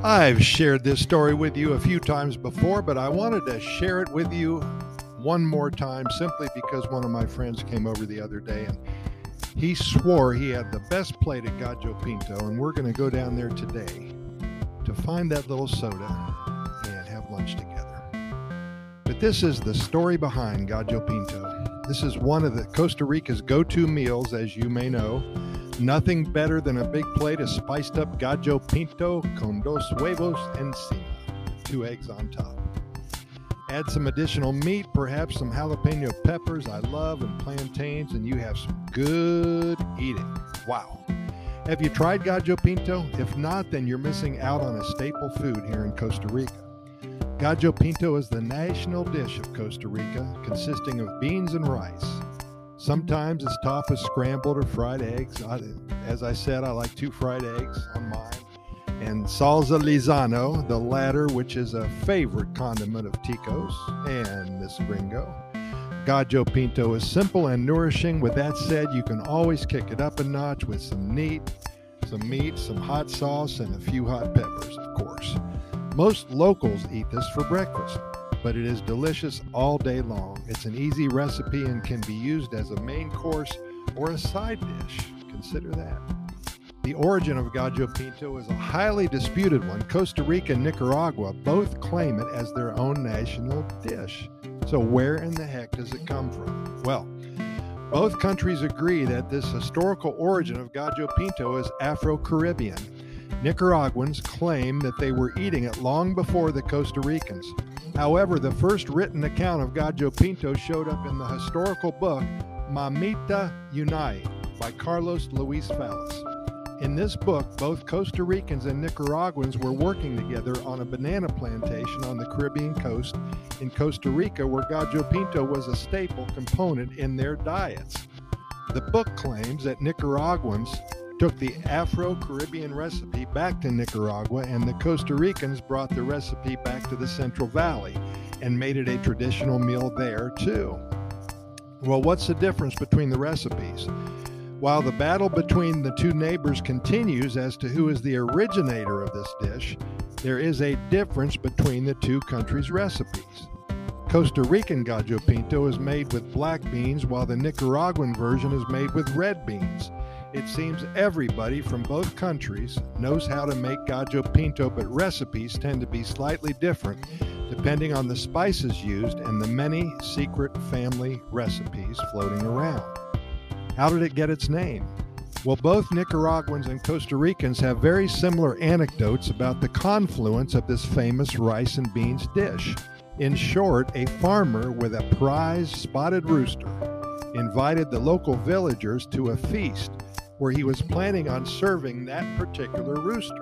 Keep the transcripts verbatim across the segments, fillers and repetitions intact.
I've shared this story with you a few times before, but I wanted to share it with you one more time simply because one of my friends came over the other day and he swore he had the best plate at Gallo Pinto, and we're going to go down there today to find that little soda and have lunch together. But this is the story behind Gallo Pinto. This is one of the Costa Rica's go-to meals, as you may know. Nothing better than a big plate of spiced up Gallo Pinto con dos huevos encima, two eggs on top. Add some additional meat, perhaps some jalapeno peppers I love, and plantains, and you have some good eating. Wow. Have you tried Gallo Pinto? If not, then you're missing out on a staple food here in Costa Rica. Gallo Pinto is the national dish of Costa Rica, consisting of beans and rice. Sometimes it's topped with scrambled or fried eggs. I, as I said, I like two fried eggs on mine. And salsa Lizano, the latter, which is a favorite condiment of Ticos and Miss Gringo. Gallo Pinto is simple and nourishing. With that said, you can always kick it up a notch with some meat, some meat, some hot sauce, and a few hot peppers, of course. Most locals eat this for breakfast, but it is delicious all day long. It's an easy recipe and can be used as a main course or a side dish. Consider that. The origin of Gallo Pinto is a highly disputed one. Costa Rica and Nicaragua both claim it as their own national dish. So where in the heck does it come from? Well, both countries agree that this historical origin of Gallo Pinto is Afro-Caribbean. Nicaraguans claim that they were eating it long before the Costa Ricans. However, the first written account of Gallo Pinto showed up in the historical book Mamita Yunay by Carlos Luis Fallas. In this book, both Costa Ricans and Nicaraguans were working together on a banana plantation on the Caribbean coast in Costa Rica, where Gallo Pinto was a staple component in their diets. The book claims that Nicaraguans took the Afro-Caribbean recipe back to Nicaragua, and the Costa Ricans brought the recipe back to the Central Valley and made it a traditional meal there too. Well, what's the difference between the recipes? While the battle between the two neighbors continues as to who is the originator of this dish, there is a difference between the two countries' recipes. Costa Rican Gallo Pinto is made with black beans, while the Nicaraguan version is made with red beans. It seems everybody from both countries knows how to make Gallo Pinto, but recipes tend to be slightly different depending on the spices used and the many secret family recipes floating around. How did it get its name? Well, both Nicaraguans and Costa Ricans have very similar anecdotes about the confluence of this famous rice and beans dish. In short, a farmer with a prize spotted rooster invited the local villagers to a feast where he was planning on serving that particular rooster.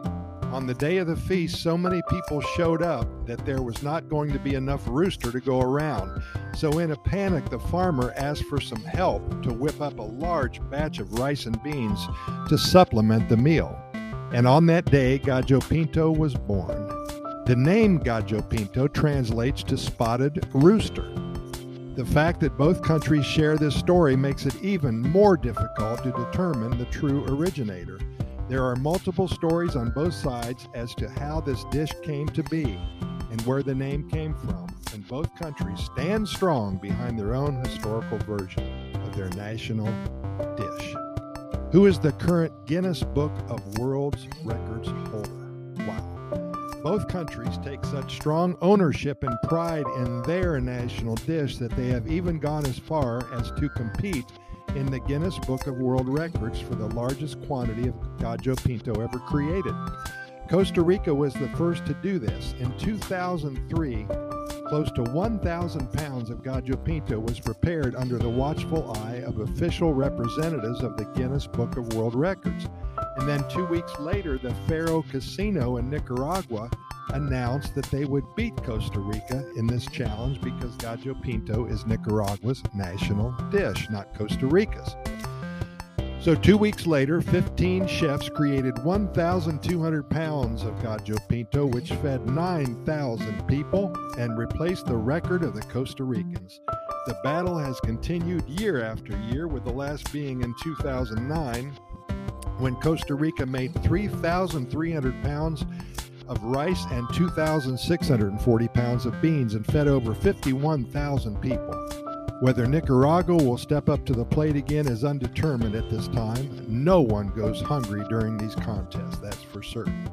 On the day of the feast, so many people showed up that there was not going to be enough rooster to go around. So in a panic, the farmer asked for some help to whip up a large batch of rice and beans to supplement the meal. And on that day, Gallo Pinto was born. The name Gallo Pinto translates to spotted rooster. The fact that both countries share this story makes it even more difficult to determine the true originator. There are multiple stories on both sides as to how this dish came to be and where the name came from, and both countries stand strong behind their own historical version of their national dish. Who is the current Guinness Book of World Records holder? Wow. Both countries take such strong ownership and pride in their national dish that they have even gone as far as to compete in the Guinness Book of World Records for the largest quantity of Gallo Pinto ever created. Costa Rica was the first to do this. In two thousand three, close to one thousand pounds of Gallo Pinto was prepared under the watchful eye of official representatives of the Guinness Book of World Records. And then two weeks later, the Faro Casino in Nicaragua announced that they would beat Costa Rica in this challenge because Gallo Pinto is Nicaragua's national dish, not Costa Rica's. So two weeks later, fifteen chefs created one thousand two hundred pounds of Gallo Pinto, which fed nine thousand people and replaced the record of the Costa Ricans. The battle has continued year after year, with the last being in two thousand nine, when Costa Rica made three thousand three hundred pounds of rice and two thousand six hundred forty pounds of beans and fed over fifty-one thousand people. Whether Nicaragua will step up to the plate again is undetermined at this time. No one goes hungry during these contests, that's for certain.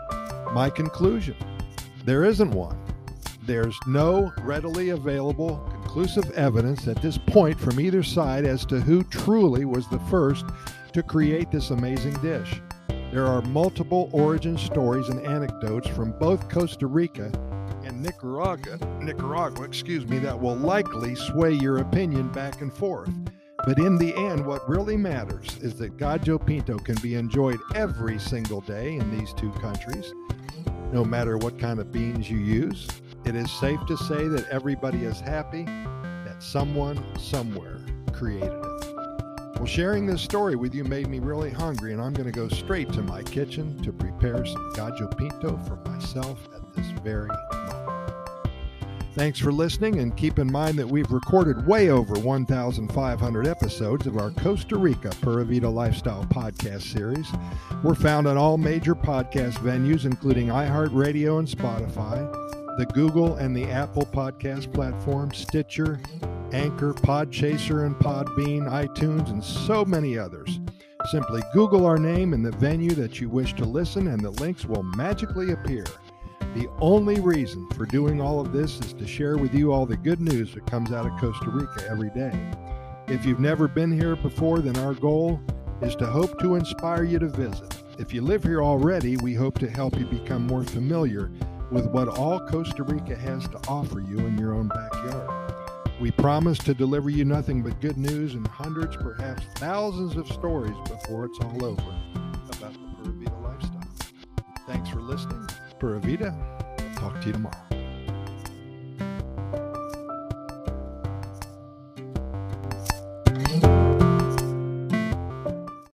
My conclusion, there isn't one. There's no readily available conclusive evidence at this point from either side as to who truly was the first to create this amazing dish. There are multiple origin stories and anecdotes from both Costa Rica and Nicaragua, Nicaragua, excuse me, that will likely sway your opinion back and forth. But in the end, what really matters is that Gallo Pinto can be enjoyed every single day in these two countries, no matter what kind of beans you use. It is safe to say that everybody is happy that someone somewhere created it. Well, sharing this story with you made me really hungry, and I'm going to go straight to my kitchen to prepare some Gallo Pinto for myself at this very moment. Thanks for listening, and keep in mind that we've recorded way over one thousand five hundred episodes of our Costa Rica Pura Vida Lifestyle podcast series. We're found on all major podcast venues, including iHeartRadio and Spotify, the Google and the Apple podcast platform, Stitcher, Anchor, Podchaser, and Podbean, iTunes, and so many others. Simply Google our name and the venue that you wish to listen, and the links will magically appear. The only reason for doing all of this is to share with you all the good news that comes out of Costa Rica every day. If you've never been here before, then our goal is to hope to inspire you to visit. If you live here already, we hope to help you become more familiar with what all Costa Rica has to offer you in your own backyard. We promise to deliver you nothing but good news and hundreds, perhaps thousands of stories before it's all over about the Pura Vida lifestyle. Thanks for listening. Pura Vida. I'll talk to you tomorrow.